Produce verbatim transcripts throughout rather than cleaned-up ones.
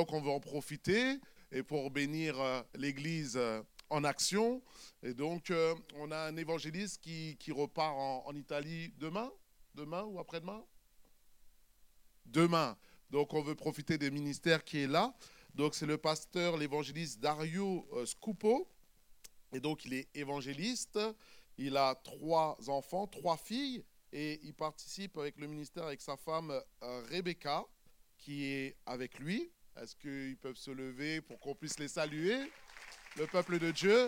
donc, on veut en profiter et pour bénir euh, l'Église euh, en action. Et donc, euh, on a un évangéliste qui, qui repart en, en Italie demain, demain ou après-demain? Demain. Donc, on veut profiter des ministères qui est là. Donc, c'est le pasteur, l'évangéliste Dario euh, Scupo. Et donc, il est évangéliste. Il a trois enfants, trois filles. Et il participe avec le ministère avec sa femme euh, Rebecca, qui est avec lui. Est-ce qu'ils peuvent se lever pour qu'on puisse les saluer, le peuple de Dieu?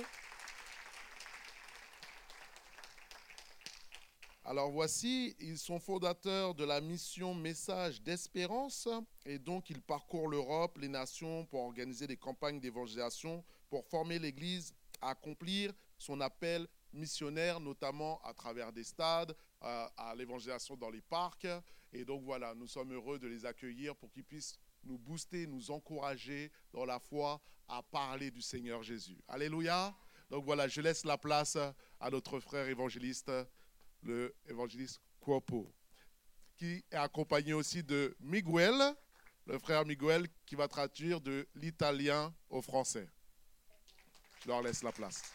Alors voici, ils sont fondateurs de la mission Message d'Espérance et donc ils parcourent l'Europe, les nations pour organiser des campagnes d'évangélisation, pour former l'Église à accomplir son appel missionnaire, notamment à travers des stades, à, à l'évangélisation dans les parcs. Et donc voilà, nous sommes heureux de les accueillir pour qu'ils puissent nous booster, nous encourager dans la foi à parler du Seigneur Jésus. Alléluia. Donc voilà, je laisse la place à notre frère évangéliste, le évangéliste Cuopo, qui est accompagné aussi de Miguel, le frère Miguel, qui va traduire de l'italien au français. Je leur laisse la place.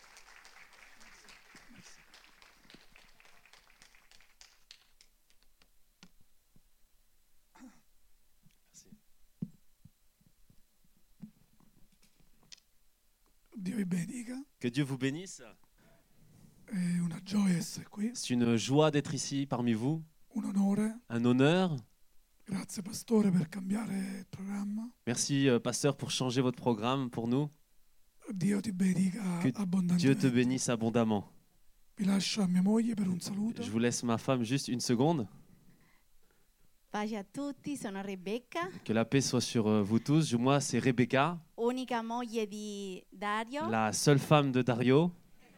Dio vi benedica. Que Dieu vous bénisse. È una gioia essere qui, C'est une joie d'être ici parmi vous, un onore. un honneur. Grazie pastore per cambiare il programma. Merci euh, pasteur pour changer votre programme pour nous. Dio ti benedica Que Dieu te abbondantemente. bénisse abondamment. Vi lascio a mia moglie per un saluto. Je vous laisse ma femme juste une seconde. Pace a tutti, sono Rebecca, Que la paix soit sur euh, vous tous. Moi, c'est Rebecca, unica moglie di Dario. la seule femme de Dario.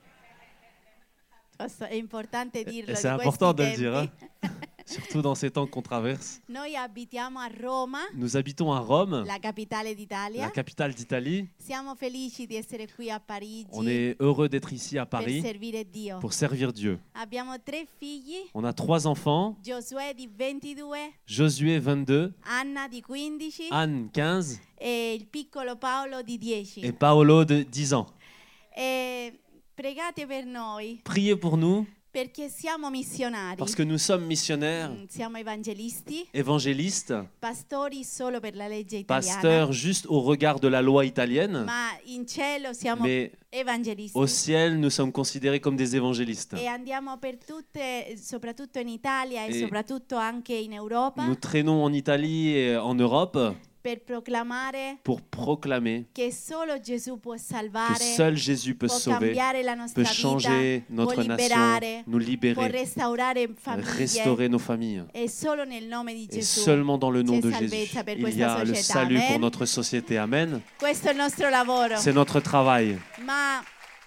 Posso- È importante dirlo Et in c'est questi important de le tempi. dire, hein. Surtout dans ces temps qu'on traverse. Noi abitiamo a Roma, Nous habitons à Rome, la capitale la d'Italia. capitale d'Italie. Siamo felici di essere qui a Parigi On est heureux d'être ici à per Paris servire Dio. pour servir Dieu. Abbiamo tre figli, On a trois enfants, Giosuè di ventidue, Josué vingt-deux, Anna di quindici Anne quinze e il piccolo Paolo di dieci. et Paolo de dix ans. E pregate per noi Priez pour nous perché siamo missionari. parce que nous sommes missionnaires, Mm, Siamo evangelisti, évangélistes, pastori solo per la legge italiana, pasteurs juste au regard de la loi italienne, ma in cielo siamo mais evangelisti. au ciel, nous sommes considérés comme des évangélistes. E andiamo per tutte, soprattutto in Italia e E soprattutto anche in Europa, Nous traînons en Italie et en Europe per proclamare pour proclamer che solo Gesù può que salvare, seul Jésus peut può sauver, cambiare la nostra peut changer vita, notre può nation, liberare, nous può libérer, restaurare famiglie. restaurer nos familles. E solo nel nome di Et Gesù seulement dans le nom c'è de Jésus, salvezza per il y questa a le società. salut pour Amen. notre société. Amen. Questo è il nostro lavoro. C'est notre travail. Ma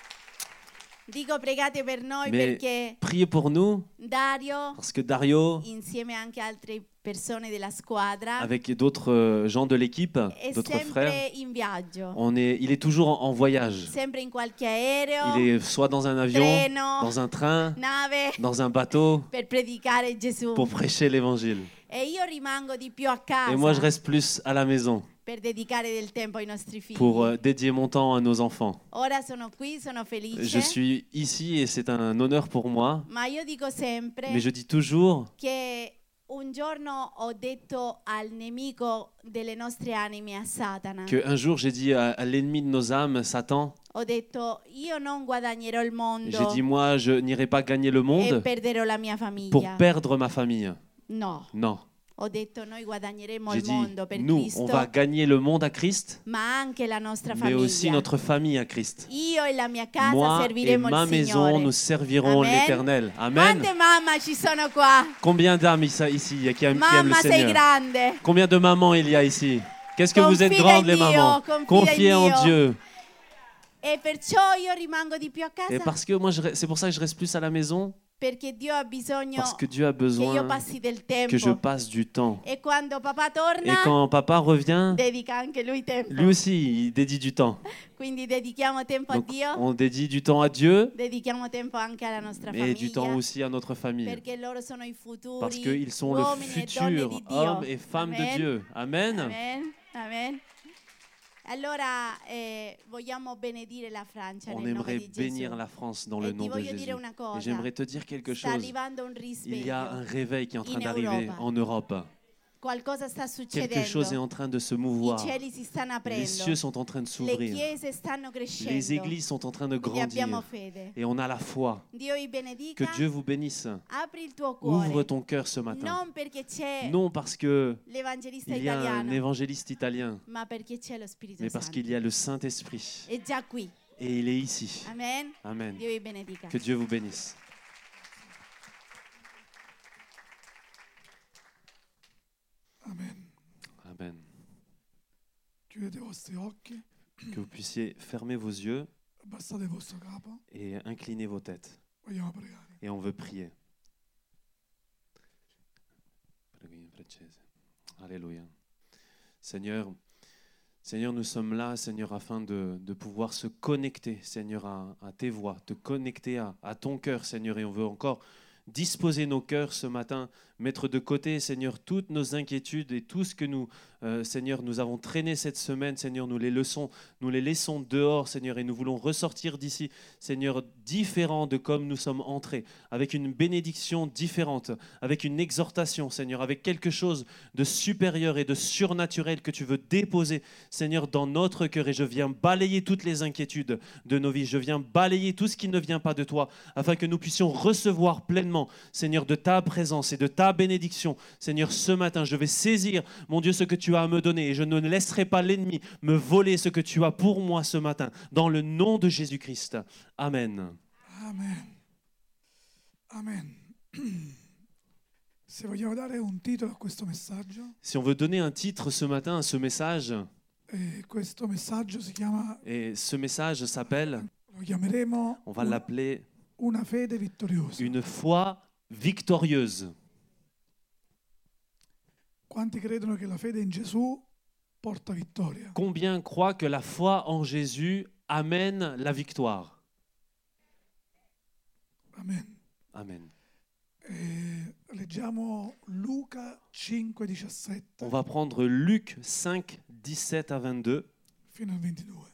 dico pregate per noi Mais perché priez pour nous, Dario, parce que Dario, insieme anche a altre persone della squadra, avec d'autres euh, gens de l'équipe, è d'autres frères, sempre in viaggio, on est, il est toujours en, en voyage. sempre in qualche aereo, Il est soit dans un avion, treno, dans un train, nave, dans un bateau, per predicare Gesù. pour prêcher l'évangile. E io rimango di più a casa Et moi, je reste plus à la maison per dedicare del tempo ai nostri figli. pour euh, dédier mon temps à nos enfants. Ora sono qui, sono felice, Je suis ici et c'est un honneur pour moi, ma io dico sempre mais je dis toujours che un giorno ho detto al nemico delle nostre anime, a Satana, qu'un jour j'ai dit à, à l'ennemi de nos âmes, Satan, ho detto io non guadagnerò il mondo j'ai dit moi je n'irai pas gagner le e monde perderò la mia famiglia. pour perdre ma famille. No, Non, ho detto noi guadagneremo j'ai il dit mondo per nous, Cristo, on va gagner le monde à Christ, ma anche la nostra mais aussi famiglia. notre famille à Christ. Io e la mia casa Moi et serviremo ma il maison, Signore. nous servirons Amen. l'Éternel. Amen. Quante mamma ci sono qua? Combien d'âmes ici ici qui aiment, qui aiment le Mamma sei Seigneur? grande. Combien de mamans il y a ici? Qu'est-ce que vous êtes Confida grandes in les Dio, mamans? confida Confiez in en Dio. Dieu. E perciò io rimango di più a casa Et parce que moi, je re- c'est pour ça que je reste plus à la maison, perché Dio ha bisogno parce que Dieu a che io besoin passi del que je tempo. passe du temps. E quando papà Et torna, quand papa revient, dedica anche lui tempo. lui aussi, il dédie du temps. Quindi dedichiamo tempo a Donc, Dio, on dédie du temps à Dieu, dedichiamo tempo anche alla nostra mais du temps famiglia, aussi à notre famille. perché loro sono i futuri Parce qu'ils sont le uomini e donne futur di Dio. hommes et femmes Amen. de Dieu. Amen. Amen. Amen. Allora eh, vogliamo benedire la Francia On nel nome aimerait di bénir Gesù. la France dans le E ti nom de voglio Jésus. dire una Et cosa, j'aimerais te dire quelque sta chose. arrivando un Il y a un risveglio, réveil qui est en train in d'arriver Europa. en Europe. qualcosa sta Quelque chose est succedendo, en train de se i mouvoir. cieli si stanno Les aprendo, cieux sont en train de le s'ouvrir. chiese stanno Les crescendo, églises sont en train de quindi abbiamo grandir. fede. Et on a la foi. Dio vi Que benedica, Dieu vous bénisse. apri il tuo Ouvre cuore, ton cœur ce matin. non perché c'è Non parce que l'evangelista il y a un italiano, évangéliste italien, ma perché c'è lo Spirito mais parce Santo. qu'il y a le Saint-Esprit. È già qui. Et il est ici. Amen. Amen. Dio vi benedica. Que Dieu vous bénisse. Amen. Amen. Chiudete i vostri occhi, Que vous puissiez fermer vos yeux abbassate il vostro capo, et incliner vos têtes. vogliamo pregare. Et on veut prier. Alléluia. Seigneur, Seigneur, nous sommes là, Seigneur, afin de, de pouvoir se connecter, Seigneur, à, à tes voix, te connecter à, à ton cœur, Seigneur. Et on veut encore disposer nos cœurs ce matin, mettre de côté, Seigneur, toutes nos inquiétudes et tout ce que nous, euh, Seigneur, nous avons traîné cette semaine, Seigneur, nous les laissons, nous les laissons dehors, Seigneur, et nous voulons ressortir d'ici, Seigneur, différents de comme nous sommes entrés, avec une bénédiction différente, avec une exhortation, Seigneur, avec quelque chose de supérieur et de surnaturel que tu veux déposer, Seigneur, dans notre cœur. Et je viens balayer toutes les inquiétudes de nos vies, je viens balayer tout ce qui ne vient pas de toi, afin que nous puissions recevoir pleinement, Seigneur, de ta présence et de ta bénédiction. Seigneur, ce matin, je vais saisir, mon Dieu, ce que tu as à me donner, et je ne laisserai pas l'ennemi me voler ce que tu as pour moi ce matin, dans le nom de Jésus-Christ. Amen. Amen. Amen. Se vogliamo dare un titolo a questo messaggio, Si on veut donner un titre ce matin à ce message, eh, questo messaggio si chiama, et ce message s'appelle, lo chiameremo on va un- l'appeler una fede vittoriosa. une foi victorieuse. Quanti credono che la fede in Gesù porta vittoria? Combien croient que la foi en Jésus amène la victoire? Amen. Amen. Eh, leggiamo Luca cinque diciassette On va prendre Luc cinq, dix-sept à vingt-deux. fino al ventidue.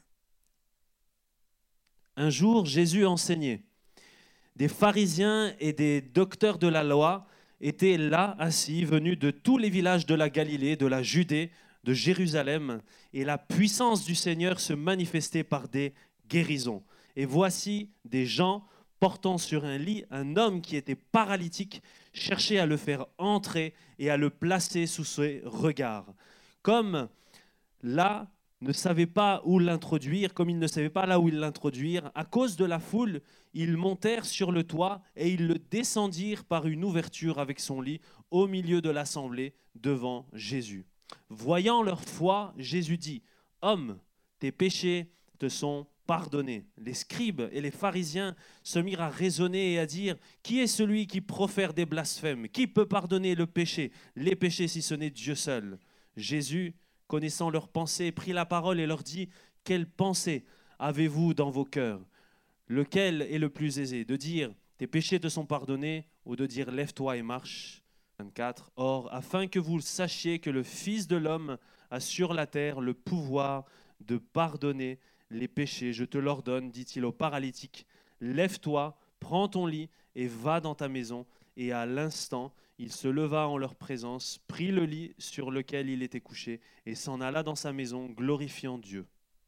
Un jour, Jésus enseignait. Des pharisiens et des docteurs de la loi étaient là, assis, venus de tous les villages de la Galilée, de la Judée, de Jérusalem, et la puissance du Seigneur se manifestait par des guérisons. Et voici des gens portant sur un lit un homme qui était paralytique, cherchaient à le faire entrer et à le placer sous ses regards. Comme là, ne savait pas où l'introduire, comme ils ne savaient pas là où l'introduire, à cause de la foule, ils montèrent sur le toit et ils le descendirent par une ouverture avec son lit au milieu de l'assemblée devant Jésus. Voyant leur foi, Jésus dit : « Homme, tes péchés te sont pardonnés. » Les scribes et les pharisiens se mirent à raisonner et à dire : « Qui est celui qui profère des blasphèmes ? Qui peut pardonner le péché, les péchés si ce n'est Dieu seul ?» Jésus, connaissant leurs pensées, prit la parole et leur dit : « Quelle pensée avez-vous dans vos cœurs ? Lequel est le plus aisé, de dire « Tes péchés te sont pardonnés » ou de dire « Lève-toi et marche » vingt-quatre. Or, afin que vous sachiez que le Fils de l'homme a sur la terre le pouvoir de pardonner les péchés, je te l'ordonne, dit-il au paralytique, lève-toi, prends ton lit et va dans ta maison. Et à l'instant, il se leva en leur présence, prit le lit sur lequel il était couché et s'en alla dans sa maison, glorifiant Dieu.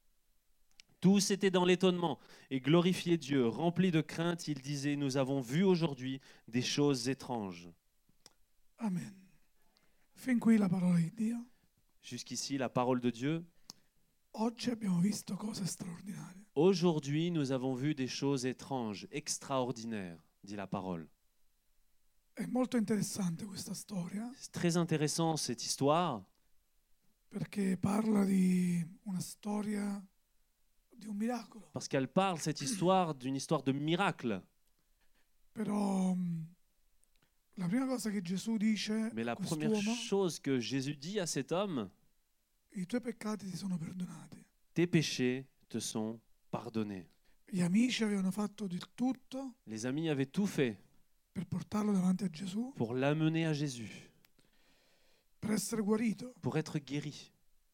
Tous étaient dans l'étonnement et glorifiaient Dieu. Remplis de crainte, ils disaient : nous avons vu aujourd'hui des choses étranges. Amen. Fin qui la parola di Dio. Jusqu'ici, la parole de Dieu. Oggi abbiamo visto cose straordinarie. Aujourd'hui, nous avons vu des choses étranges, extraordinaires, dit la parole. È molto interessante questa storia C'est très intéressant cette histoire perché parla di una storia di un miracolo. parce qu'elle parle, cette histoire, d'une histoire de miracle. Però mh, la prima cosa che Gesù dice Mais la a première quest'uomo, chose que Jésus dit à cet homme, i tuoi peccati ti sono perdonati. tes péchés te sont pardonnés. Gli amici avevano fatto di tutto Les amis avaient tout fait per portarlo davanti a Gesù, pour l'amener à Jésus, per essere guarito. pour être guéri.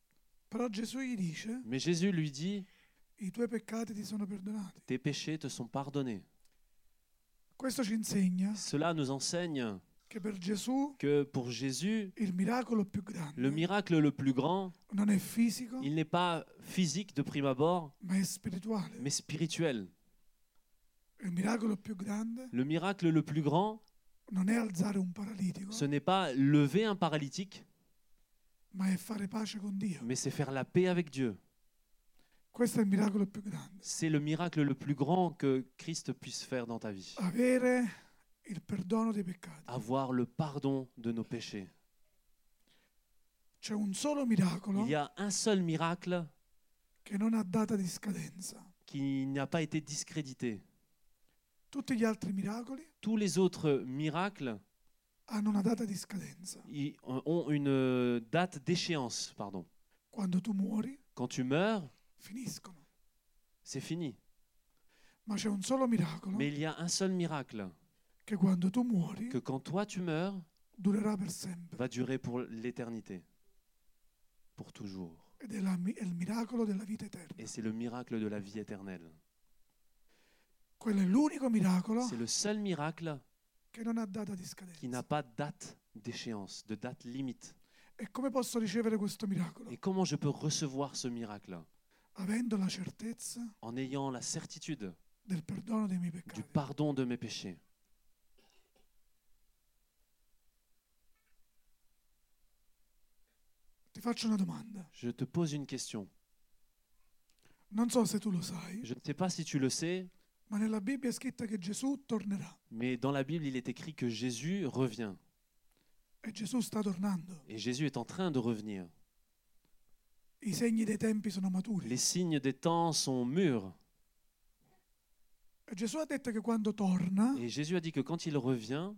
Però Gesù gli dice, Mais Jésus lui dit, i tuoi peccati ti sono perdonati. tes péchés te sont pardonnés. Questo ci insegna Cela nous enseigne che per Gesù que pour Jésus, il miracolo più grande le miracle le plus grand, non è fisico, il n'est pas physique de prime abord, ma è spirituale. mais spirituel. Il miracolo più grande Le miracle le plus grand, non è alzare un paralitico, ce n'est pas lever un paralytique, ma è fare pace con Dio. mais c'est faire la paix avec Dieu. Questo è il miracolo più grande. C'est le miracle le plus grand que Christ puisse faire dans ta vie. Avere il perdono dei peccati. Avoir le pardon de nos péchés. C'è un solo miracolo Il y a un seul miracle che non ha data di scadenza. qui n'a pas été discrédité. Tutti gli altri miracoli Tous les autres miracles hanno una data di scadenza. ils ont une date d'échéance. Pardon. Quando tu muori, Quand tu meurs, finiscono. c'est fini. Ma c'è un solo miracolo Mais il y a un seul miracle che quando tu muori que quand toi tu meurs, durerà per sempre. va durer pour l'éternité, pour toujours. Ed è, la- è il miracolo della vita eterna. Et c'est le miracle de la vie éternelle. Quello è l'unico miracolo C'est le seul miracle che non ha data di qui scadenza. n'a pas de date d'échéance, de date limite. E come posso ricevere questo miracolo? Et comment je peux recevoir ce miracle? Avendo la certezza En ayant la certitude del perdono dei miei du peccati. pardon de mes péchés. Ti faccio una domanda. Je te pose une question. Non so se tu lo sai, Je ne sais pas si tu le sais, ma nella Bibbia è scritto che Gesù tornerà. mais dans la Bible, il est écrit que Jésus revient. E Gesù sta tornando. Et Jésus est en train de revenir. I segni dei tempi sono maturi. Les signes des temps sont mûrs. E Gesù ha detto che quando torna Et Jésus a dit que quand il revient,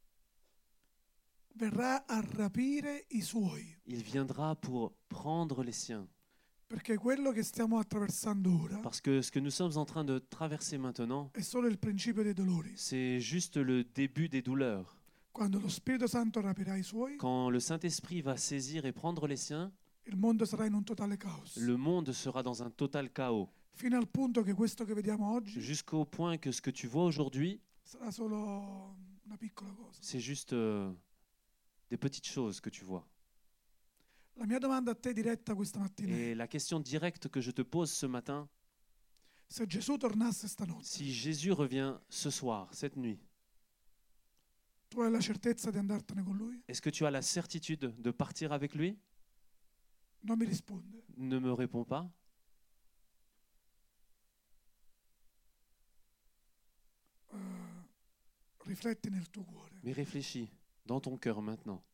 verrà a rapire i suoi. il viendra pour prendre les siens. Perché quello che stiamo attraversando ora Parce que ce que nous sommes en train de traverser maintenant, è solo il principio dei dolori. c'est juste le début des douleurs. Quando lo Spirito Santo rapirà i suoi, Quand le Saint-Esprit va saisir et prendre les siens, il mondo sarà in un totale caos. le monde sera dans un total chaos. Fino al punto che questo che vediamo oggi Jusqu'au point que ce que tu vois aujourd'hui, sarà solo una piccola cosa. c'est juste euh, des petites choses que tu vois. La mia domanda a te diretta questa mattina è: Et la question directe que je te pose ce matin, se Gesù tornasse stanotte, si Jésus revient ce soir, cette nuit, tu hai la certezza di andartene con lui? est-ce que tu as la certitude de partir avec lui? Non mi risponde. Ne me réponds pas. Uh, rifletti nel tuo cuore. Mais réfléchis dans ton cœur maintenant.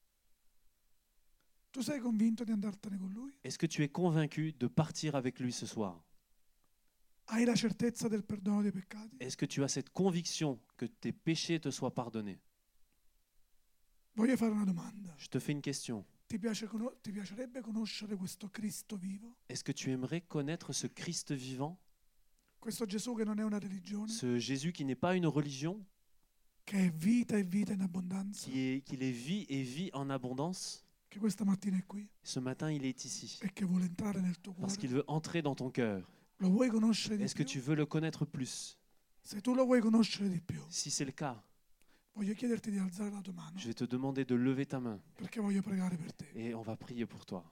Tu sei convinto di andartene con lui? Est-ce que tu es convaincu de partir avec lui ce soir? Hai la certezza del perdono dei peccati? Est-ce que tu as cette conviction que tes péchés te soient pardonnés? Voglio fare una domanda. Je te fais une question. Ti, piace cono- ti piacerebbe conoscere questo Cristo vivo? Est-ce que tu aimerais connaître ce Christ vivant? Questo Gesù che non è una religione, Ce Jésus qui n'est pas une religion, che è vita e vita in abbondanza, qui est, qu'il est vie et vie en abondance? che questa mattina è qui Ce matin, il est ici e che vuole entrare nel tuo parce cuore. qu'il veut entrer dans ton cœur. Lo vuoi conoscere di Est-ce que più? tu veux le connaître plus? Se tu lo vuoi conoscere di più, Si c'est le cas, voglio chiederti di alzare la tua mano je vais te demander de lever ta main perché voglio pregare per te. et on va prier pour toi.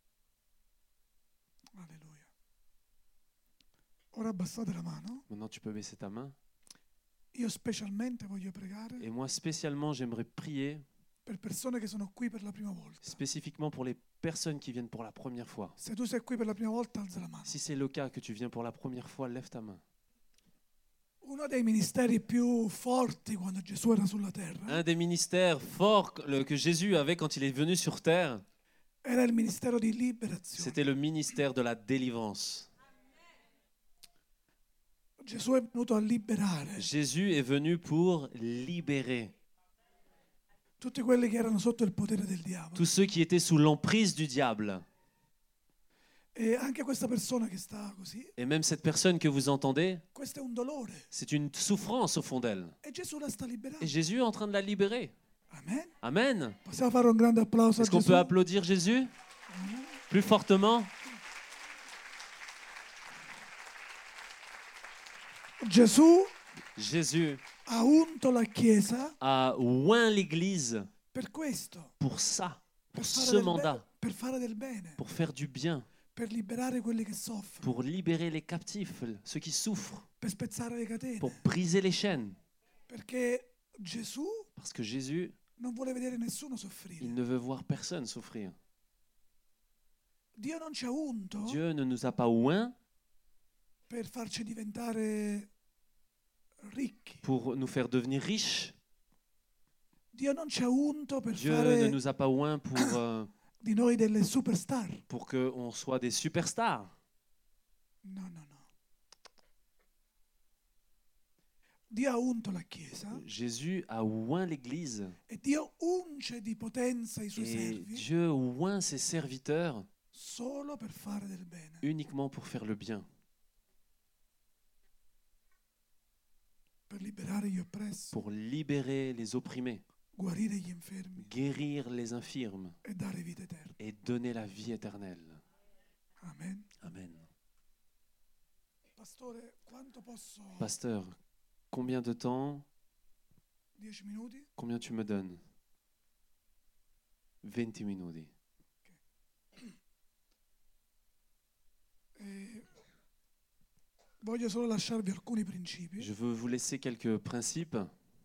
Alleluia. Ora abbassate la mano. Maintenant, tu peux baisser ta main. Io specialmente voglio pregare Et moi, spécialement, j'aimerais prier per persone che sono qui per la prima volta. spécifiquement pour les personnes qui viennent pour la première fois. Se tu sei qui per la prima volta, alza la mano. Si c'est le cas que tu viens pour la première fois, lève ta main. Uno dei ministeri più forti quando Gesù era sulla terra Un des ministères forts que que Jésus avait quand il est venu sur terre, era il ministero di liberazione. c'était le ministère de la délivrance. Gesù è venuto a liberare Jésus est venu pour libérer tutti quelli che erano sotto il potere del diavolo. tous ceux qui étaient sous l'emprise du diable. E anche questa persona che sta così, Et même cette personne que vous entendez, questo è un dolore. c'est une souffrance au fond d'elle. E Gesù la sta liberando. Et Jésus est en train de la libérer. Amen. Amen. Possiamo fare un grande applauso a Est-ce qu'on Gesù? peut applaudir Jésus? Plus fortement, Gesù Jésus ha unto la Chiesa a oint l'Église per questo, pour ça, per pour fare, ce del be- mandat, per fare del bene, pour faire du bien, per liberare quelli che soffrono, pour libérer les captifs, ceux qui souffrent, per spezzare le catene. pour briser les chaînes. Perché Gesù Parce que Jésus, non vuole vedere nessuno il soffrire. ne veut voir personne souffrir. Dio non ci ha unto Dieu ne nous a pas oints per farci diventare ricchi. pour nous faire devenir riches. Dio non ci ha unto per Dieu ne fare nous a pas oints pour, euh, di noi delle superstar. pour qu'on soit des superstars. No, no, no. Dio ha unto la Chiesa Jésus a oint l'Église e Dio unge di potenza i suoi et servi Dieu oint ses serviteurs solo per fare del bene, uniquement pour faire le bien, per liberare gli oppressi, pour libérer les opprimés, guarire gli infermi guérir les infirmes e dare vita eterna. et donner la vie éternelle. Amen. Amen. Pastore, quanto posso? Pasteur, combien de temps, Dieci minuti? combien tu me donnes? venti minuti. Eh, voglio solo lasciarvi alcuni principi. Je veux vous laisser quelques principes.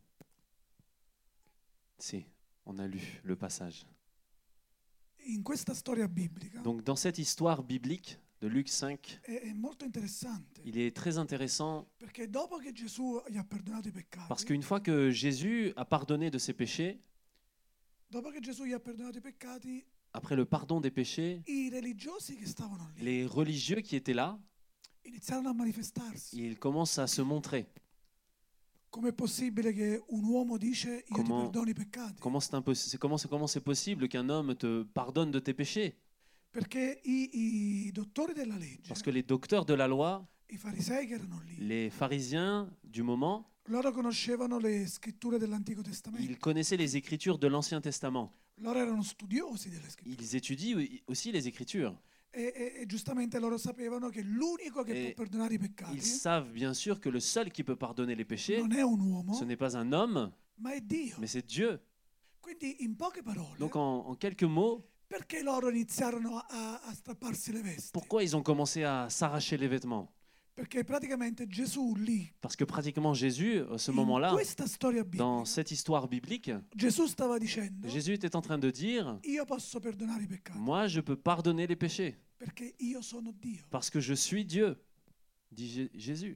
Si, on a lu le passage. In questa storia biblica Donc dans cette histoire biblique de Luc cinq, è, è molto interessante, il est très intéressant perché dopo che Gesù gli ha perdonato i peccati, parce qu'une fois que Jésus a pardonné de ses péchés, dopo che Gesù gli ha perdonato i peccati, après le pardon des péchés, i religiosi che stavano lì les religieux qui étaient là, iniziarono a manifestarsi. ils commencent à se montrer. Com'è possibile che un uomo dice io ti Comment- perdono i peccati? Comment c'est impos- c'est- comment c'est comment c'est possible qu'un homme te pardonne de tes péchés? Perché i, i dottori della legge, Parce que les docteurs de la loi, i farisei che erano lì, les pharisiens du moment, loro conoscevano le scritture dell'Antico Testamento, ils connaissaient les écritures de l'Ancien Testament. loro erano studiosi delle scritture Ils étudient aussi les écritures. e, e- e giustamente loro sapevano che l'unico che E può perdonare i peccati Ils savent bien sûr que le seul qui peut pardonner les péchés, non è un uomo, ce n'est pas un homme, ma è Dio. mais c'est Dieu. Quindi in poche parole, Donc en, en quelques mots, perché loro iniziarono a, a strapparsi le vesti? pourquoi ils ont commencé à s'arracher les vêtements? Perché praticamente Gesù lì, Parce que pratiquement Jésus, à ce in moment-là, questa storia dans biblica, cette histoire biblique, Gesù stava dicendo Jésus était en train de dire, io posso perdonare i peccati moi je peux pardonner les péchés, perché io sono Dio. parce que je suis Dieu, dit Jé- Jésus.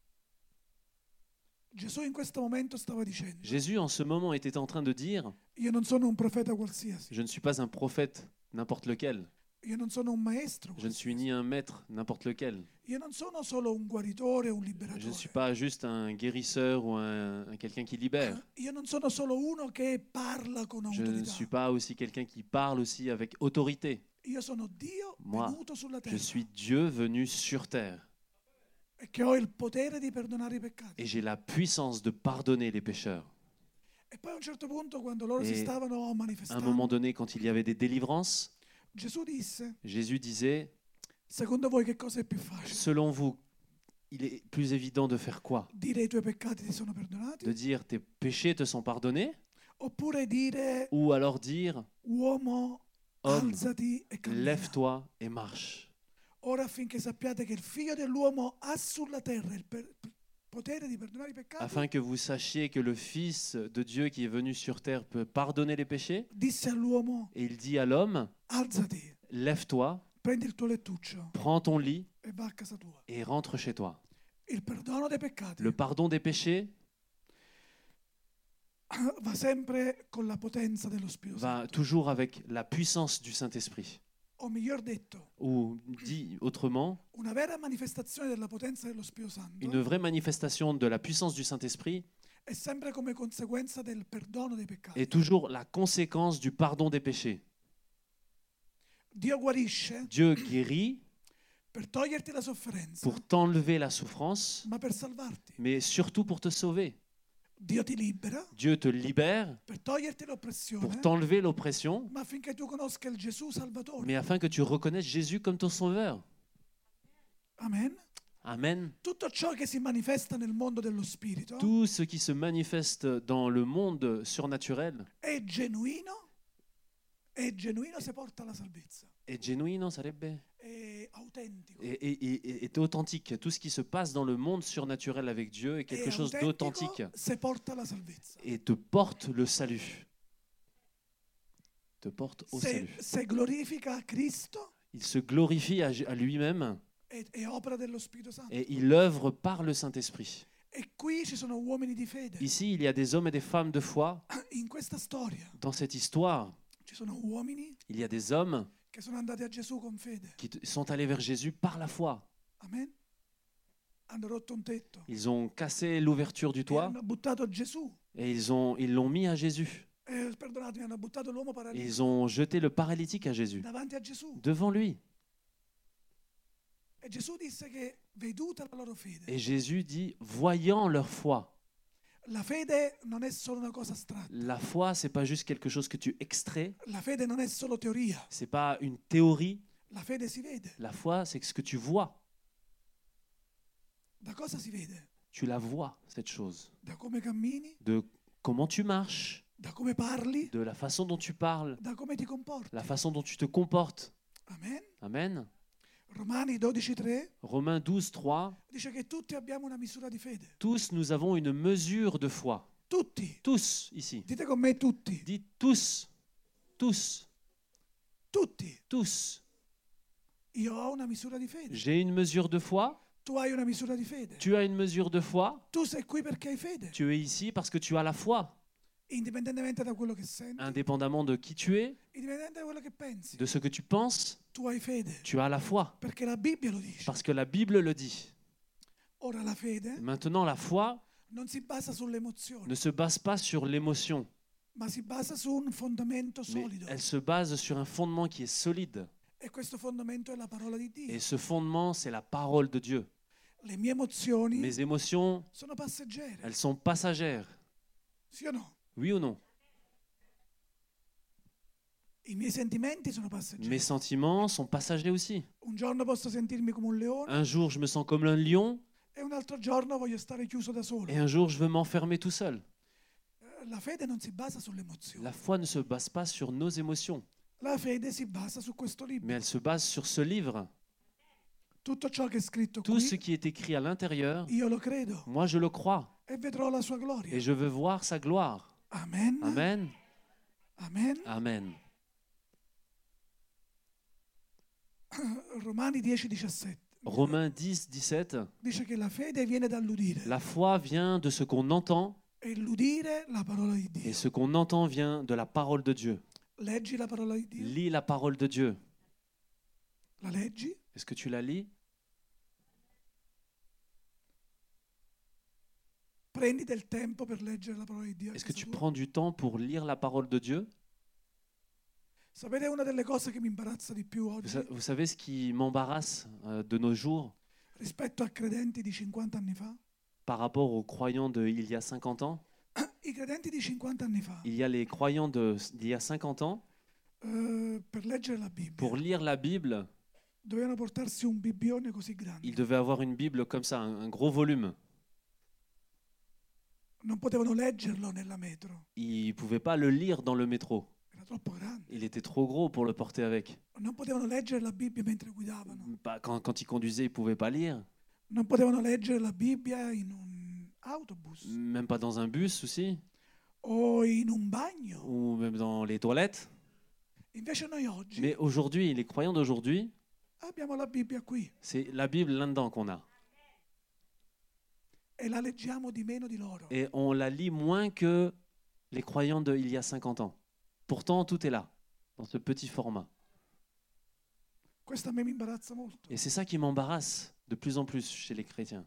Gesù in questo momento stava dicendo Jésus en ce moment était en train de dire, io non sono un profeta qualsiasi, je ne suis pas un prophète n'importe lequel, io non sono un maestro je ne suis qualsiasi, ni un maître n'importe lequel, io non sono solo un guaritore o un je ne suis liberatore, pas juste un guérisseur ou un, un quelqu'un qui libère. io non sono solo uno che parla con Je ne autorità, suis pas aussi quelqu'un qui parle aussi avec autorité. io sono Dio Moi, venuto sulla Je terra suis Dieu venu sur terre e che ho il potere di perdonare i peccati. et j'ai la puissance de pardonner les pécheurs. E poi a un certo punto, quando loro si Et stavano À un moment manifestando, donné, quand il y avait des délivrances, Gesù disse: Jésus disait, secondo voi che cosa è più facile? selon vous, il est plus évident de faire quoi? Dire i tuoi peccati ti sono De perdonati? dire tes péchés te sont pardonnés? Oppure dire Ou alors dire, uomo, homme, alzati e cammina? lève-toi et marche. Ora affinché sappiate che il figlio dell'uomo ha sulla terra il per- potere di perdonare i peccati, Afin que vous sachiez que le Fils de Dieu qui est venu sur terre peut pardonner les péchés. disse all'uomo: Et il dit à l'homme, alzati, lève-toi, prendi il tuo lettuccio prends ton lit e va a casa tua. et rentre chez toi. Il perdono dei peccati Le pardon des péchés va sempre con la potenza dello Spirito va Santo. toujours avec la puissance du Saint-Esprit. O meglio detto, Ou dit autrement, una vera manifestazione della potenza dello Spirito Santo une vraie manifestation de la puissance du Saint-Esprit è sempre come conseguenza del perdono dei peccati. est toujours la conséquence du pardon des péchés. Dio guarisce Dieu guérit per toglierti la sofferenza, pour t'enlever la souffrance, ma per salvarti. mais surtout pour te sauver. Dio ti libera Dieu te libère per toglierti l'oppressione, pour t'enlever l'oppression, ma affinché tu conosca il Gesù Salvatore. mais afin que tu reconnaisses Jésus comme ton sauveur. Amen. Amen. Tutto ciò che si manifesta nel mondo dello spirito Tout ce qui se manifeste dans le monde surnaturel è genuino, è genuino se porta alla salvezza, est genuino, sarebbe è autentico. est, est- est- est authentique. Tout ce qui se passe dans le monde surnaturel avec Dieu est quelque È chose d'authentique autentico se porta alla salvezza. et te porte le salut. Te porte au Se, salut. se glorifica Cristo Il se glorifie à, à lui-même è, è opera dello Spirito Santo. et il œuvre par le Saint-Esprit. E qui ci sono uomini di fede. Ici, il y a des hommes et des femmes de foi. In questa storia Dans cette histoire, ci sono uomini il y a des hommes che sono andati a Gesù con fede. qui t- sont allés vers Jésus par la foi. Amen. Hanno rotto un tetto. Ils ont cassé l'ouverture du E toit hanno buttato Gesù. et ils ont ils l'ont mis à Jésus. Eh, perdonatemi, hanno buttato l'uomo Et paralitico ils ont jeté le paralytique à Jésus, davanti a Gesù. devant lui. E Gesù disse che, veduta la loro fede, Et Jésus dit, voyant leur foi. la fede non è solo una cosa astratta. La foi, c'est pas juste quelque chose que tu extrais, La fede non è solo teoria. c'est pas une théorie. La fede si vede. La foi, c'est ce que tu vois. Da cosa si vede? Tu la vois, cette chose. Da come cammini, De comment tu marches, da come parli, de la façon dont tu parles, da come ti comporti. la façon dont tu te comportes. Amen. Amen. Romani dodici tre Romains douze, trois. dice che tutti abbiamo una misura di fede. Tous, nous avons une mesure de foi. Tutti. Tous, ici. Dite con me tutti. Dites tous. Tous. Tutti. Tous. Io ho una misura di fede. J'ai une mesure de foi. Tu hai una misura di fede. Tu as une mesure de foi. Tu sei qui perché hai fede. Tu es ici parce que tu as la foi. Indipendentemente da quello che senti, Indépendamment de qui tu es, indipendentemente da quello che pensi, de ce que tu penses, tu hai fede. tu as la foi. Perché la Bibbia lo dice. Parce que la Bible le dit. Ora la fede Maintenant, la foi non si basa sull'emozione, ne se base pas sur l'émotion, ma si basa su un fondamento mais solido. elle se base sur un fondement qui est solide. E questo fondamento è la parola di Dio. Et ce fondement, c'est la parole de Dieu. Le mie emozioni Mes émotions, sono passeggere. elles sont passagères. Sì o no? Oui ou non? I miei sentimenti sono passeggeri. Mes sentiments sont passagers aussi. Un giorno posso sentirmi come un leone Un jour, je me sens comme un lion, e un altro giorno voglio stare chiuso da solo. et un jour, je veux m'enfermer tout seul. Eh, La fede non si basa sull'emozione. La foi ne se base pas sur nos émotions, La fede si basa su questo libro. mais elle se base sur ce livre. Tutto ciò che è scritto Tout ce qui, qui est écrit à l'intérieur, io lo credo moi, je le crois, e vedrò la sua gloria. et je veux voir sa gloire. Amen. Amen. Amen. Amen. Romani dieci diciassette Romains dix, dix-sept. dice che la fede viene dall'udire La foi vient de ce qu'on entend, e l'udire la parola di et Dio. ce qu'on entend vient de la parole de Dieu. Leggi la parola di Dio. Lis la parole de Dieu. La leggi? Est-ce que tu la lis? Prendi del tempo per leggere la parola di Dio. a Est-ce que casa tu tua? prends du temps pour lire la parole de Dieu? Sapete una delle cose che mi imbarazza di più Vous, oggi sa- vous savez ce qui m'embarrasse euh, de nos jours rispetto a credenti di cinquanta anni fa? par rapport aux croyants d'il y a cinquante ans? I credenti di cinquanta anni fa, Il y a les croyants de- d'il y a cinquante ans, eh, per leggere la Bibbia, pour lire la Bible, dovevano portarsi un bibbione così grande. ils devaient avoir une Bible comme ça, un, un gros volume. Non potevano leggerlo nella metro, Ils ne pouvaient pas le lire dans le métro. era troppo grande. Il était trop gros pour le porter avec. Non potevano leggere la Bibbia mentre guidavano. Pas- quand, quand ils conduisaient, ils ne pouvaient pas lire. Non potevano leggere la Bibbia in un autobus Même pas dans un bus aussi, o in un bagno. ou même dans les toilettes. Invece noi oggi Mais aujourd'hui, les croyants d'aujourd'hui, abbiamo la Bibbia qui c'est la Bible là-dedans qu'on a. e la leggiamo di meno di loro. Et on la lit moins que les croyants d'il y a cinquante ans. Pourtant, tout est là, dans ce petit format. Questo a me mi imbarazza molto, Et c'est ça qui m'embarrasse de plus en plus chez les chrétiens.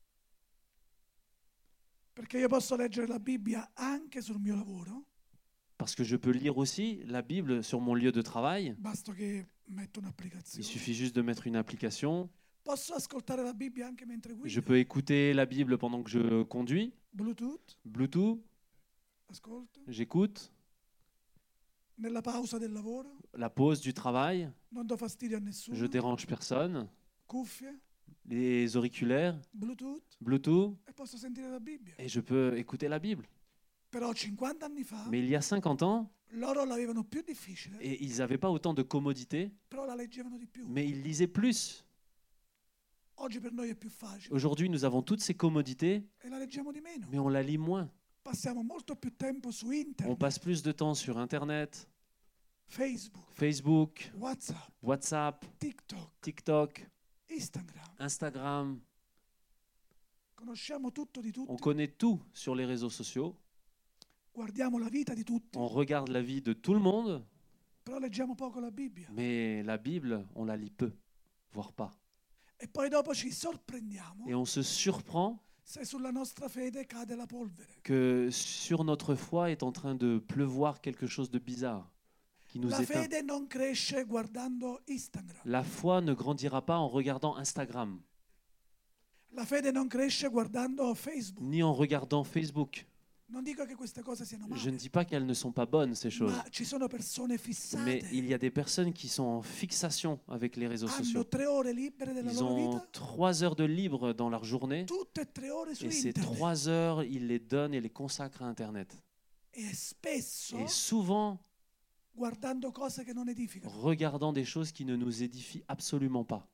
perché io posso leggere la Bibbia anche sul mio lavoro, Parce que je peux lire aussi la Bible sur mon lieu de travail. basta che metto Il un'applicazione. suffit juste de mettre une application. Posso ascoltare la Bibbia anche mentre guido? Je peux écouter la Bible pendant que je conduis. Bluetooth, Bluetooth, ascolto. j'écoute. Nella pausa del lavoro, La pause du travail, non do fastidio a nessuno. je dérange personne. Cuffie, Les auriculaires, Bluetooth Bluetooth, e posso sentire la Bibbia. et je peux écouter la Bible. Però cinquanta anni fa Mais il y a cinquante ans, loro l'avevano più difficile, et ils n'avaient pas autant de commodité, però la leggevano di più. mais ils lisaient plus. Oggi per noi è più facile Aujourd'hui, nous avons toutes ces commodités, e la leggiamo di meno. mais on la lit moins. Passiamo molto più tempo su On internet, passe plus de temps sur Internet, Facebook, Facebook, WhatsApp, WhatsApp, TikTok, TikTok, Instagram. Instagram. Conosciamo tutto di On tutti, connaît tout sur les réseaux sociaux. guardiamo la vita di tutti, On regarde la vie de tout le monde, però leggiamo poco la Bibbia. mais la Bible, on la lit peu, voire pas. E poi dopo ci sorprendiamo Et on se surprend se sulla nostra fede cade la polvere. que sur notre foi est en train de pleuvoir quelque chose de bizarre qui nous La éteint. fede non cresce guardando Instagram. La foi ne grandira pas en regardant Instagram, La fede non cresce guardando Facebook. ni en regardant Facebook. Non dico che queste cose siano Je ne male, dis pas qu'elles ne sont pas bonnes, ces choses. ma ci sono persone Mais fissate. il y a des personnes qui sont en fixation avec les réseaux Hanno sociaux. tre ore libere della Ils loro ont vita, trois heures de libre dans leur journée, tutte e tre ore su et ces internet. trois heures, ils les donnent et les consacrent à Internet. E spesso Et souvent, guardando cose che non edificano. regardant des choses qui ne nous édifient absolument pas.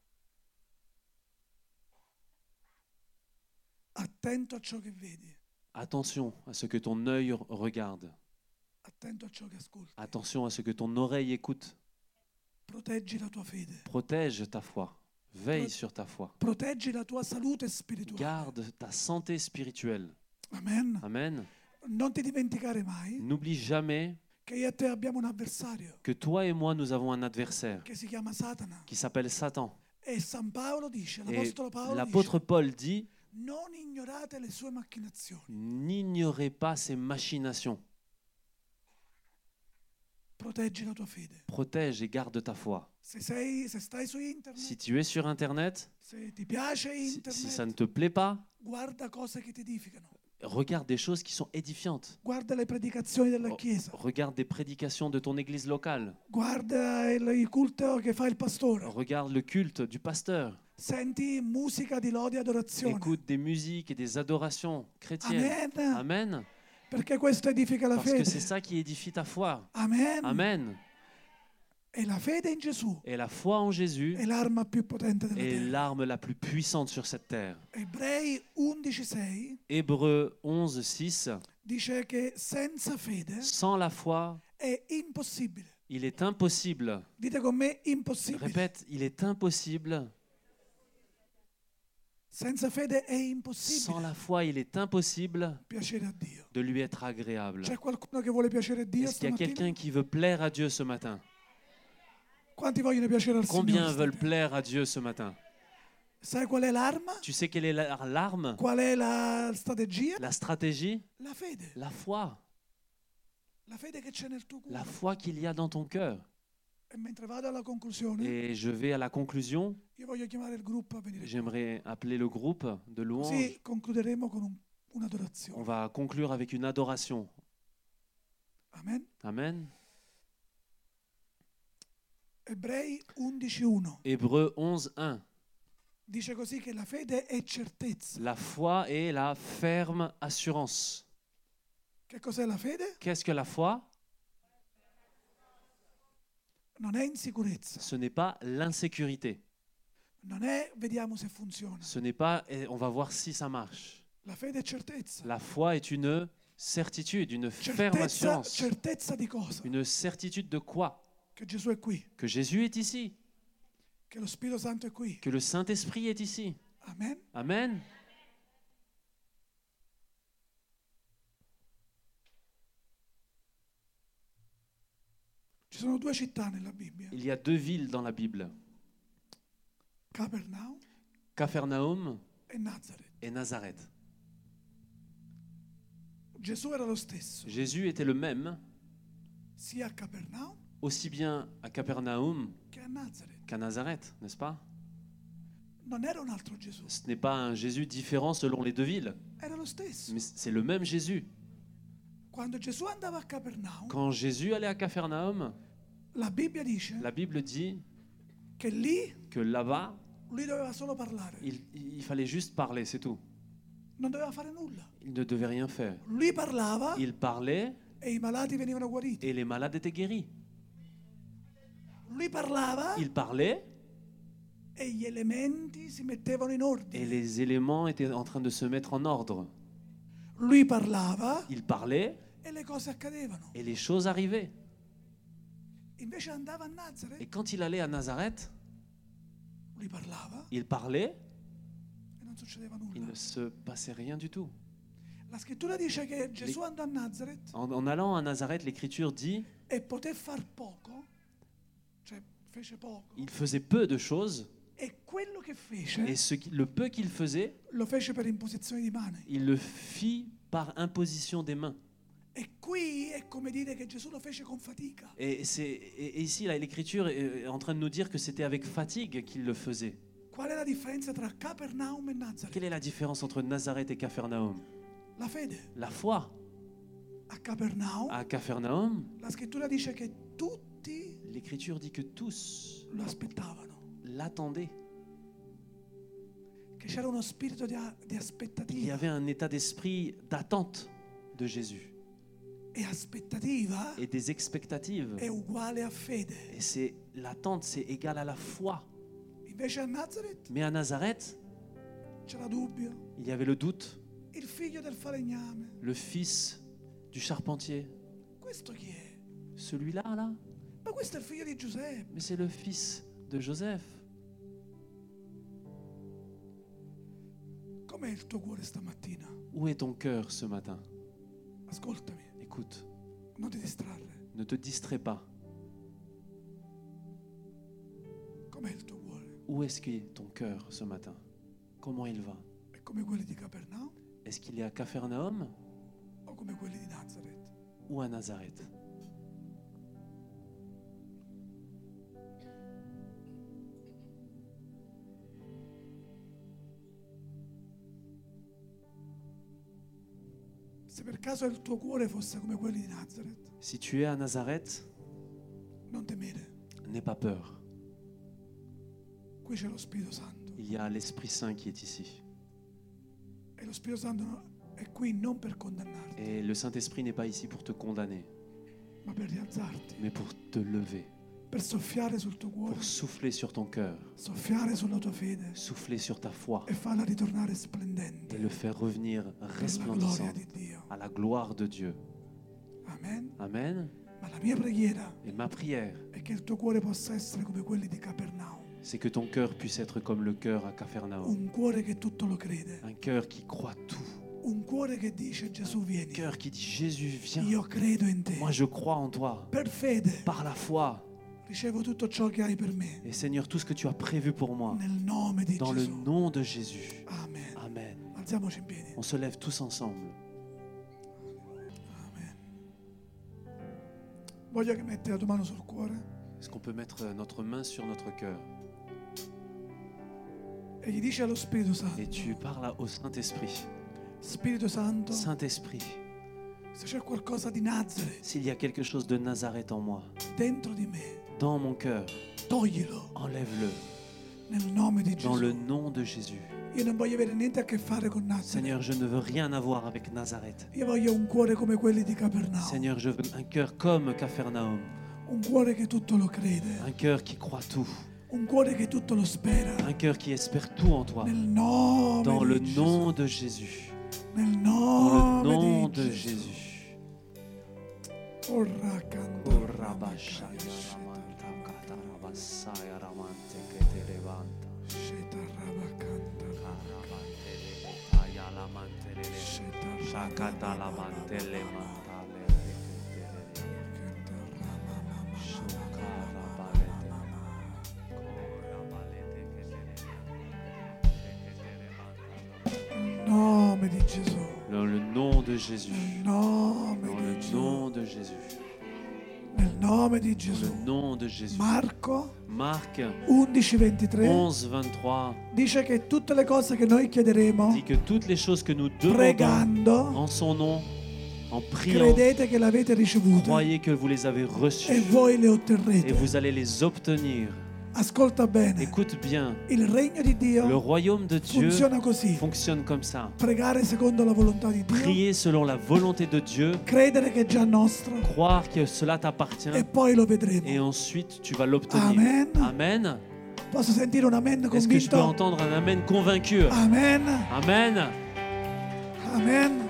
Attento a ciò che vedi, Attention à ce que ton œil regarde. attento a ciò che ascolti. Attention à ce que ton oreille écoute. Proteggi la tua fede, Protège ta foi. Veille sur ta foi. proteggi la tua salute spirituale. Garde ta santé spirituelle. Amen. Amen. Non ti dimenticare mai N'oublie jamais che io e te abbiamo un avversario que toi et moi, nous avons un adversaire che si chiama Satana. qui s'appelle Satan. E San Paolo dice, Et l'Apostolo Paolo l'apôtre dice, Paul dit, non ignorate le sue macchinazioni. n'ignorez pas ses machinations. Proteggi la tua fede. Protège et garde ta foi. Se, sei, se stai su internet, Si tu es sur Internet, se ti piace si, internet, si ça ne te plaît pas, guarda cose che ti edificano. regarde des choses qui sont édifiantes. Guarda le predicazioni della Oh, Chiesa. Regarde des prédications de ton église locale. Guarda il, il culto che fa il pastore. Regarde le culte du pasteur. Senti musica di lode e adorazione. Écoute des musiques et des adorations chrétiennes. Amen. Amen. Perché questo edifica la Parce que fede. c'est ça qui édifie ta foi. Amen. Amen. E la fede in Gesù Et la foi en Jésus è l'arma più potente della est terra. l'arme la plus puissante sur cette terre. Ebrei undici sei Hébreux onze six. dice che senza fede Sans la foi, è impossibile. il est impossible. Dite con me impossibile. Répète, il est impossible. Senza fede è Sans impossibile la foi, il est impossible piacere a Dio. de lui être agréable. C'è qualcuno che vuole piacere a Dio Est-ce qu'il y a stamattina? quelqu'un qui veut plaire à Dieu ce matin? Quanti vogliono piacere al Combien Signore? veulent stasera? plaire à Dieu ce matin? Sai qual è l'arma? Tu sais quelle est la- l'arme? Qual è la strategia? La stratégie? La fede. La foi. La fede che c'è nel tuo La cuore. foi qu'il y a dans ton cœur. E mentre vado alla conclusione, Et je vais à la conclusion. io voglio chiamare il gruppo a venire. J'aimerais appeler le groupe de louanges. Così concluderemo con un- On un'adorazione. va conclure avec une adoration. Amen. Amen. Ebrei undici uno Hébreux onze un. dice così che la fede è certezza. La foi est la ferme assurance. Che cos'è la fede? Qu'est-ce que la foi? Non è insicurezza. Ce n'est pas l'insécurité. Non è vediamo se funziona. Ce n'est pas eh, on va voir si ça marche. La fede è certezza. La foi est une certitude, une ferme Certezza, assurance. certezza di cosa? Une certitude de quoi? Che Gesù è qui, Que Jésus est ici, che lo Spirito Santo è qui. que le Saint-Esprit est ici. Amen. Amen. Ci sono due città nella Bibbia, Il y a deux villes dans la Bible, Capernaum Capharnaüm e Nazareth. et Nazareth. Gesù era lo stesso, Jésus était le même, sia a Capernaum aussi bien à Capharnaüm che a Nazareth. qu'à Nazareth, n'est-ce pas? Non era un altro Gesù, Ce n'est pas un Jésus différent selon les deux villes, era lo stesso. mais c'est le même Jésus. Quando Gesù andava a Capernaum, Quand Jésus allait à Capharnaüm, la Bibbia dice la Bible dit che lì que là-bas, lui doveva solo parlare, il, il fallait juste parler, c'est tout. non doveva fare nulla. Il ne devait rien faire. Lui parlava Il parlait e i malati venivano guariti. et les malades étaient guéris. Lui parlava Il parlait e gli elementi si mettevano in et ordine. les éléments étaient en train de se mettre en ordre. Lui parlava Il parlait e le cose accadevano. et les choses arrivaient. Invece andava a Nazareth, Et quand il allait à Nazareth, lui parlava il parlait, e non succedeva il nulla. ne se passait rien du tout. La scrittura dice che Gesù andò a Nazareth En, en allant à Nazareth, l'Écriture dit e poté far poco, cioè fece poco, il faisait peu de choses e quello che et fece ce qui- le peu qu'il faisait, lo fece per imposizione di mani. il le fit par imposition des mains. E qui è come dire che Gesù lo fece con fatica. Et, c'est, et et ici, là, l'Écriture est en train de nous dire que c'était avec fatigue qu'il le faisait. Qual è la differenza tra Capernaum e Nazareth? Quelle est la différence entre Nazareth et Capharnaüm? La fede. La foi. A Capernaum À Capharnaüm, la scrittura dice che tutti l'Écriture dit que tous lo aspettavano, l'attendaient. che c'era uno spirito di, a- di Il y aspettativa. avait un état d'esprit d'attente de Jésus E aspettativa et des expectatives. è uguale a fede. Et c'est l'attente, c'est égal à la foi. Invece a Nazareth Mais à Nazareth, c'era dubbio. il y avait le doute. Il figlio del falegname. Le fils du charpentier, Questo chi è? celui-là, là, Ma questo è il figlio di Giuseppe. mais c'est le fils de Joseph. Com'è il tuo cuore stamattina? Où est ton cœur ce matin? Ascoltami, Écoute, non ti distrarre. ne te distrais pas. Com'è il tuo cuore? Où est-ce qu'est ton cœur ce matin? Comment il va? È come quelli di Capernaum Est-ce qu'il est à Capharnaüm o come quelli di Nazareth? ou à Nazareth? Se per caso il tuo cuore fosse come quelli di Nazareth, Si tu es à Nazareth, non temere. n'aie pas peur. Qui c'è lo Spirito Santo. Il y a l'Esprit Saint qui est ici. E lo Spirito Santo no- è qui non per condannarti, Et le Saint-Esprit n'est pas ici pour te condamner, ma per rialzarti, mais pour te lever, per soffiare sul tuo cuore, pour souffler sur ton cœur, soffiare sulla tua fede souffler sur ta foi e farla ritornare splendente et le faire revenir per la gloria resplendissant di Dio. à la gloire de Dieu. Amen. Amen. Ma la mia preghiera Et ma prière, è che il tuo cuore possa essere come quelli di Capernaum, c'est que ton cœur puisse être comme le cœur à Capharnaüm. un cuore che tutto lo crede, Un cœur qui croit tout. un cuore che dice Gesù Un vieni, cœur qui dit Jésus, viens. io credo in te, Moi, je crois en toi. per fede Par la foi. ricevo tutto ciò che hai per me, Et Seigneur, tout ce que tu as prévu pour moi, nel nome di dans le Gesù. nom de Jésus. Amen. Amen. Alziamoci in piedi. On se lève tous ensemble. Amen. Voglio che metti la tua mano sul cuore Est-ce qu'on peut mettre notre main sur notre cœur e gli dici allo Spirito et Santo, tu parles au Saint-Esprit. Spirito Santo, Saint-Esprit, se c'è qualcosa di Nazareth s'il y a quelque chose de Nazareth en moi, dentro di me, dans mon cœur, toglilo enlève-le nel nome di dans le Gesù. nom de Jésus. Io non voglio avere niente a che fare con Nazareth. Seigneur, je ne veux rien avoir avec Nazareth. Io voglio un cuore come quelli di Capernaum, Seigneur, je veux un cœur comme Capharnaüm, un cuore che tutto lo crede, un cœur qui croit tout, un cuore che tutto lo spera. un cœur qui espère tout en toi. Nel nome Dans le di nom de Jésus. Gesù. Nel Dans le nome nom di de Gesù. Jésus. Orra canta, sheta raba canta, sheta Shakata la mantele mantale. canta rama mama Shukara balete. nel nome di Gesù, Dans le nom de Jésus. nel nome Dans di le Gesù, nom de Jésus. nel nome di Dans Gesù. le nom de Jésus. Marco Marc undici ventitré onze vingt-trois dice che tutte le cose che noi chiederemo dit que toutes les choses que nous demandons pregando, en son nom, en priant, credete che l'avete ricevute croyez que vous les avez e reçues voi le et otterrete. vous allez les obtenir. Ascolta bene, Écoute bien, il regno di le Dio royaume de Dieu funziona così. fonctionne comme ça. Pregare secondo la volontà di Dio, Prier selon la volonté de Dieu, credere che è già nostro croire que cela t'appartient e poi lo vedremo. et ensuite tu vas l'obtenir. Amen. Amen. Posso sentire un amen Est-ce que je peux convinto? entendre un amen convaincu? Amen. Amen. Amen.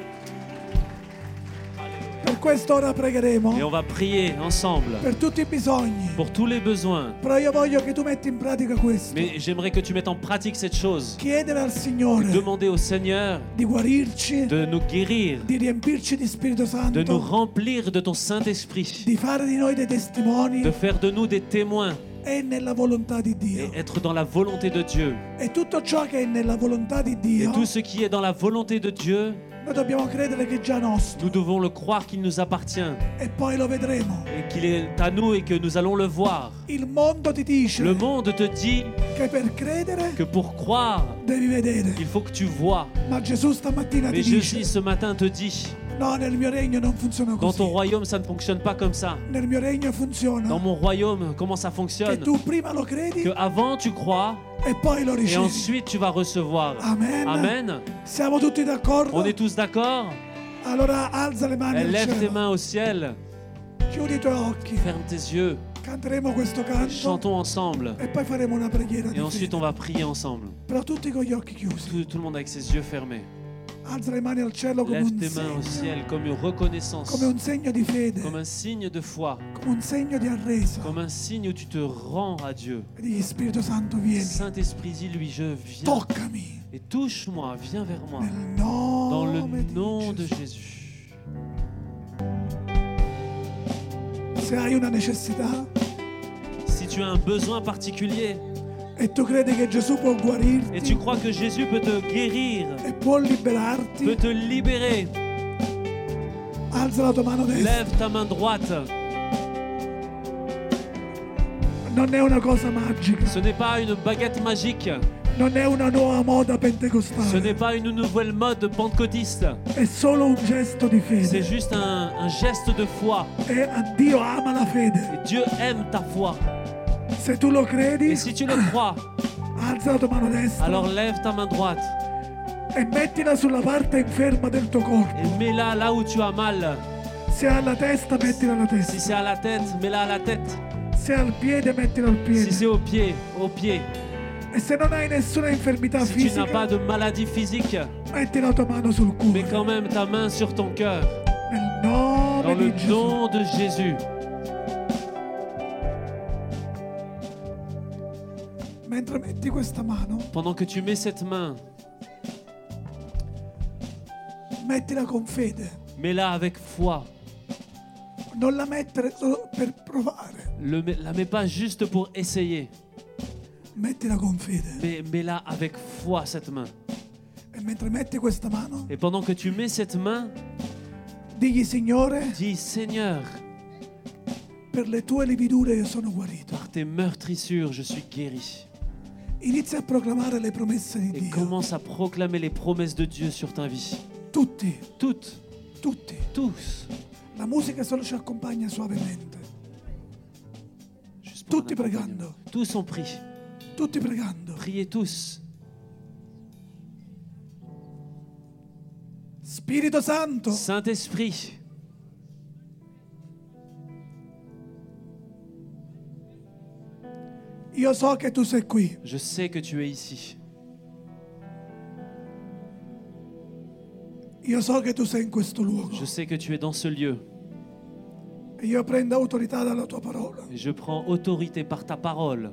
Per quest'ora Et pregheremo on va prier ensemble per tutti i bisogni. pour tous les besoins. Però io voglio che tu metti in pratica questo. Mais j'aimerais que tu mettes en pratique cette chose. Chiedere al Signore Demander au Seigneur di guarirci, de nous guérir, di riempirci di Spirito de nous Santo, remplir de ton Saint-Esprit, di fare di noi dei testimoni de faire de nous des témoins e nella volontà di et Dio. être dans la volonté de Dieu. E tutto ciò che è nella volontà di Et Dio, tout ce qui est dans la volonté de Dieu, noi dobbiamo credere che è già nostro nous devons le croire qu'il nous appartient e poi lo vedremo. et qu'il est à nous et que nous allons le voir. Il mondo ti dice Le monde te dit che per credere que pour croire, devi vedere, il faut que tu vois. ma Gesù stamattina Mais ti Jésus dice ce matin te dit, no, nel mio regno non funziona dans così. ton royaume, ça ne fonctionne pas comme ça. Nel mio regno funziona Dans mon royaume, comment ça che fonctionne? tu prima lo credi Que avant tu crois e poi lo et ricevi. ensuite tu vas recevoir. Amen. Amen. Siamo tutti d'accordo? On est tous d'accord? Allora alza le mani al Lève tes cielo, mains au ciel, chiudi i tuoi occhi, ferme tes yeux, canteremo questo canto chantons ensemble e poi faremo una preghiera et di ensuite fede. on va prier ensemble. Però tutti con gli occhi chiusi. Tout, tout le monde avec ses yeux fermés. Alza le mani al cielo come Lève un tes mains au segno, ciel comme une reconnaissance, come un segno di fede, comme un signe de foi, come un segno di arresa. comme un signe où tu te rends à Dieu. E digli Spirito Santo vieni, Saint-Esprit, dis-lui, je viens toccami et touche-moi, viens vers moi. nel Dans nome le di nom de Gesù. Jésus. Se hai una necessità Si tu as un besoin particulier e tu credi che Gesù può et tu guarirti crois que Jésus peut te guérir, e può liberarti, peut te libérer, alza la tua mano destra. lève ta main droite. Non è una cosa magica, Ce n'est pas une baguette magique, non è una nuova moda ce pentecostale, n'est pas une nouvelle mode pentecôtiste, è solo un gesto di c'est fede. juste un, un geste de foi. E a Dio ama la fede. Et Dieu aime ta foi. Se tu lo credi, Et si tu le crois, alza la tua mano destra alors lève ta main droite e mettila sulla parte inferma del tuo corpo. et mets-la là où tu as mal. Se è alla testa, mettila alla Si testa. c'est à la tête, mets-la à la tête. Se è al piede, mettila al Si piede. c'est au pied, au pied. E se non hai nessuna infermità Si tu n'as fisica, pas de maladie physique, metti la tua mano sul mets cuore. quand même ta main sur ton cœur. Nel Dans nome le di Gesù. nom de Jésus. Mentre metti questa mano, Pendant que tu mets cette main, mettila con fede. mets-la avec foi. Non la mettere solo per provare. Ne la mets pas juste pour essayer, Mettila con fede. mais mets-la avec foi, cette main. E mentre metti questa mano, Et pendant que tu mets cette main, digli Signore, dis Seigneur, per le tue lividure io sono guarito. par tes meurtrissures, je suis guéri. Inizia a proclamare le promesse di Et Dio. commence à proclamer les promesses de Dieu sur ta vie. Tutti, Toutes, tutti. tous. La musica solo ci accompagna suavemente. Juste pour un Tutti accompagnement. pregando. Tous ont pris. Tutti pregando. Priez tous. Spirito Santo, Saint-Esprit, io so che tu sei qui. je sais que tu es ici. Io so che tu sei in questo luogo. Je sais que tu es dans ce lieu. E io prendo autorità dalla tua parola. Et je prends autorité par ta parole.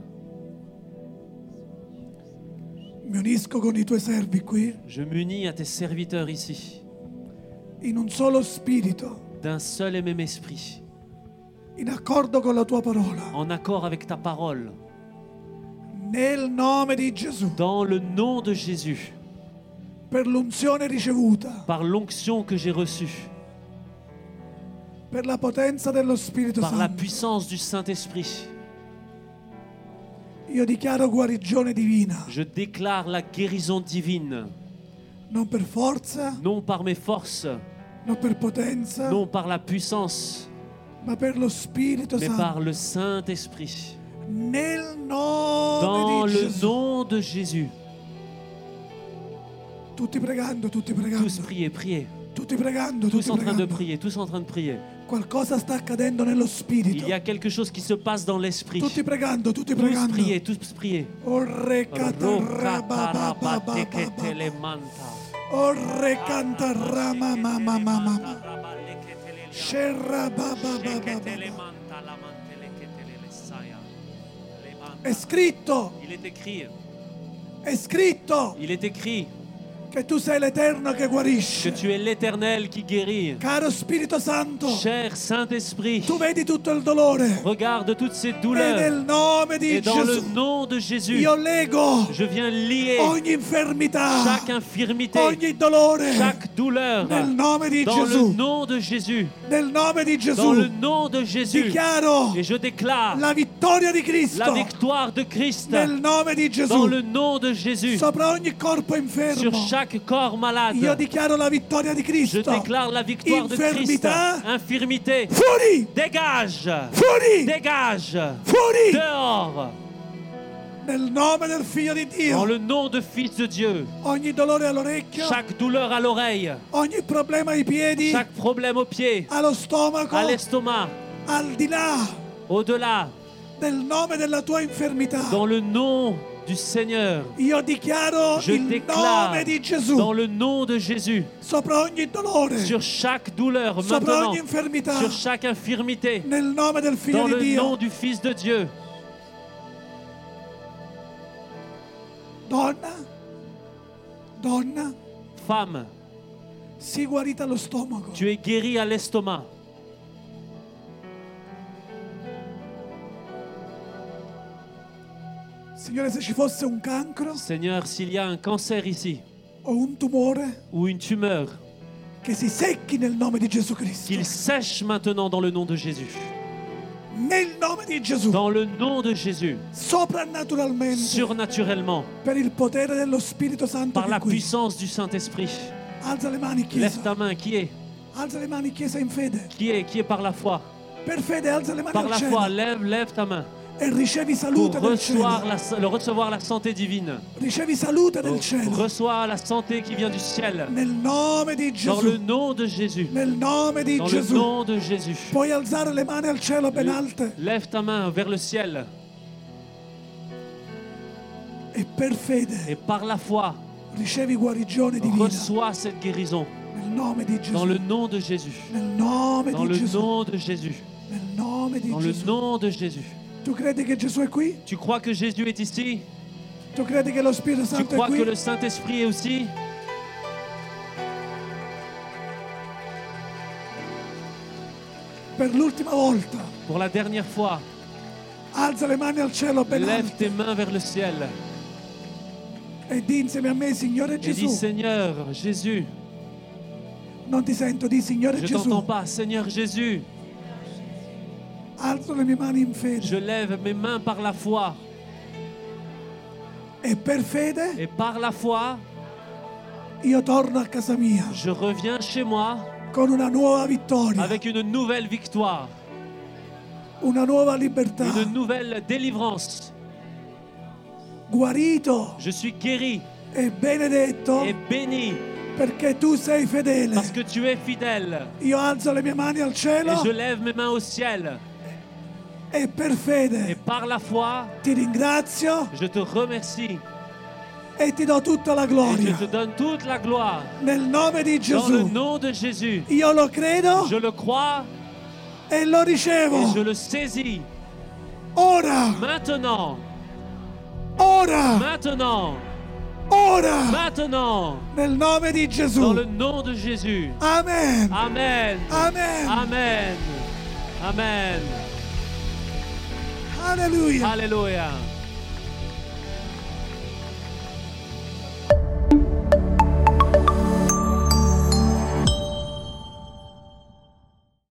Mi unisco con i tuoi servi qui Je m'unis à tes serviteurs ici, in un solo spirito, d'un seul et même esprit, in accordo con la tua parola. en accord avec ta parole, Nel nome di Gesù, dans le nom de Jésus, per l'unzione ricevuta, par l'onction que j'ai reçue, per la potenza dello Spirito par la Santo. puissance du Saint-Esprit. Io dichiaro guarigione divina, Je déclare la guérison divine, non per forza, non par mes forces, non per potenza, non par la puissance, ma per lo Spirito mais Santo. par le Saint-Esprit. Nel nome Dans di le Gesù. nom de Jésus. Tutti pregando, tutti pregando, Tous priez, priez. tutti pregando, Tous tutti en train de pregando. prier, tous en train de prier. Qualcosa sta accadendo nello Spirito. Il y a quelque chose qui se passe dans l'esprit. Tutti pregando, tutti Tous pregando. priez, tous priez. Orre catarrabababababa. Orre cantarrama mama mama. Scerra bababababa. È scritto, Il est écrit, è scritto il est écrit che tu sei l'Eterno che que guarisce. tu es l'Éternel qui guérit. Caro Spirito Santo, Cher Saint-Esprit, tu vedi tutto il dolore. regarde toutes ces E douleurs. nel nome di Et dans le Gesù nom de Jésus, io lego je viens lier ogni infermità, chaque infirmité, ogni dolore chaque douleur. nel nome di Dans le Gesù. nom de Jésus, Nel nome di dans le Gesù nom de Jésus. dichiaro Et je déclare la vittoria di la Cristo victoire de Christ nel nome di dans Gesù le nom de Jésus sopra ogni corpo sur infermo. chaque corps malade. Io dichiaro la vittoria di Je Cristo. déclare la victoire de Christ. Infirmità. Infirmité, Fuori! dégage, Fuori! dégage, Fuori! dehors, Nel nome del Figlio di dans Dio. le nom de Fils de Dieu. Ogni dolore all'orecchio, Chaque douleur à l'oreille, ogni problema ai piedi, chaque problème au pied, allo stomaco, à l'estomac, al di là au-delà, del nome della tua infermità. dans le nom du Seigneur. Io dichiaro Je il déclare nome di Gesù dans le nom de Jésus sopra ogni dolore, sur chaque douleur sopra maintenant, ogni infermità, sur chaque infirmité, nel nome del Figlio dans di le Dio. nom du Fils de Dieu. Donna, donna, Femme, sii guarita allo stomaco. tu es guérie à l'estomac. Signore, se ci fosse un cancro Seigneur, s'il y a un cancer ici o un tumore, ou une tumeur, che si secchi nel nome di Gesù Cristo. qu'il sèche maintenant dans le nom de Jésus. Nel nome di Gesù, Dans le nom de Jésus, soprannaturalmente, surnaturellement, per il potere dello Spirito Santo par che è la qui. puissance du Saint-Esprit. Alza le mani, Lève Chiesa. ta main. Qui est? Alza le mani, Chiesa, in fede. Qui est? Qui est par la foi? Per fede, alza le mani Par al la cielo foi, lève, lève ta main. e ricevi Pour salute del cielo. recevoir la, le recevoir la santé divine. Ricevi salute del cielo. Reçois la santé qui vient du ciel. Nel nome di Dans le Gesù. nom de Jésus. Nel nome di Dans le Gesù. nom de Jésus. Puoi alzare le mani al cielo ben alte Lève ta main vers le ciel. e per fede Et par la foi, ricevi guarigione divina. reçois cette guérison. Nel nome di Dans Gesù. le nom de Jésus. Nel nome Dans di le Gesù. nom de Jésus. Nel nome di Dans le Gesù. nom de Jésus. Tu credi che Gesù è qui? Tu crois que Jésus est ici? Tu credi che lo Spirito Tu Santo è crois que qui? le Saint-Esprit est aussi? Per l'ultima volta, Pour la dernière fois, alza le mani al cielo ben lève alte tes mains vers le ciel e di insieme a me, Signore et dis, Gesù. Seigneur Jésus, Non ti sento, di Signore je t'entends Gesù. pas, Seigneur Jésus, Alzo le mie mani in je fede lève mes mains par la foi e per fede et par la foi, io torno a casa mia je reviens chez moi con una nuova vittoria, avec une nouvelle victoire, una nuova libertà, une nouvelle délivrance. guarito Je suis guéri e benedetto et béni perché tu sei fedele. parce que tu es fidèle. Io alzo le mie mani al Et cielo je lève mes mains au ciel e per et fede par la foi, ti ringrazio je te remercie e ti do tutta la et je gloria. te donne toute la gloire. Nel nome di Dans le Gesù. nom de Jésus, Io lo credo je le crois e lo et ricevo. je le saisis. Ora, Maintenant, ora, maintenant, ora, maintenant, nel nome di dans Gesù. le nom de Jésus. Amen. Amen. Amen. Amen. Amen. Alleluia. Alléluia.